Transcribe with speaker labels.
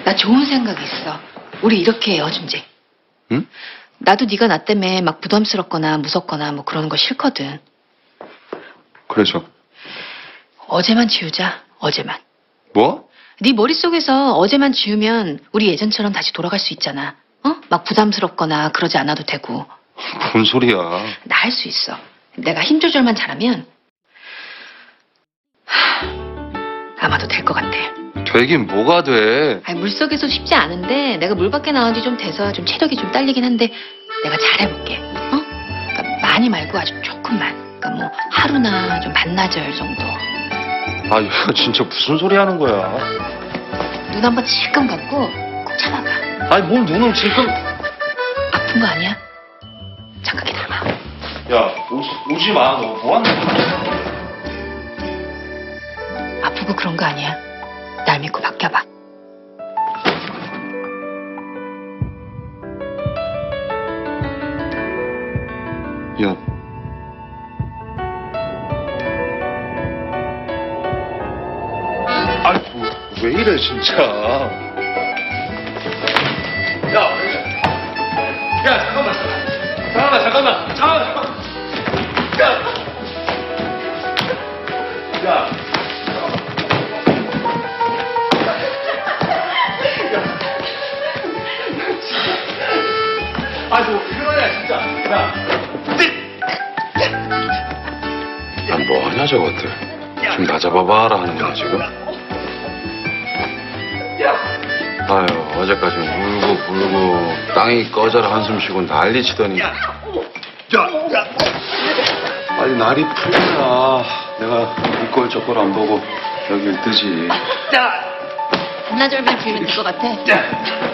Speaker 1: 나 좋은 생각 있어. 우리 이렇게 해요, 준재.
Speaker 2: 응?
Speaker 1: 나도 네가 나 때문에 막 부담스럽거나 무섭거나 뭐 그러는 거 싫거든.
Speaker 2: 그래서
Speaker 1: 어제만 지우자, 어제만.
Speaker 2: 뭐?
Speaker 1: 네 머릿속에서 어제만 지우면 우리 예전처럼 다시 돌아갈 수 있잖아. 어? 막 부담스럽거나 그러지 않아도 되고.
Speaker 2: 뭔 소리야?
Speaker 1: 나 할 수 있어. 내가 힘 조절만 잘하면 아마도 될 것 같아.
Speaker 2: 되긴 뭐가 돼?
Speaker 1: 아니, 물속에서 쉽지 않은데 내가 물 밖에 나온 지 좀 돼서 좀 체력이 좀 딸리긴 한데 내가 잘해볼게. 어? 그러니까 많이 말고 아주 조금만. 그러니까 뭐 하루나 좀 반나절 정도.
Speaker 2: 아, 얘가 진짜 무슨 소리 하는 거야?
Speaker 1: 눈 한번 질끈 감고 꼭 참아봐.
Speaker 2: 아니, 뭘 눈을 지금...
Speaker 1: 아픈 거 아니야? 잠깐 기다려봐.
Speaker 2: 야, 오지 마. 너 뭐 하는 거야?
Speaker 1: 아프고 그런 거 아니야. 날 믿고 맡겨봐.
Speaker 2: 야. 아니, 왜 이래, 진짜. 야, 잠깐만. 야. 아니, 뭐, 그러냐, 진짜. 야, 뭐 하냐, 저것들. 좀 나 잡아봐라 하는 거야, 지금? 아유, 어제까지 울고 땅이 꺼져라 한숨 쉬고 난리 치더니. 아니, 날이 풀려야 내가 이꼴 저꼴 안 보고 여길 뜨지.
Speaker 1: 반나절만 지우면 될 것 같아.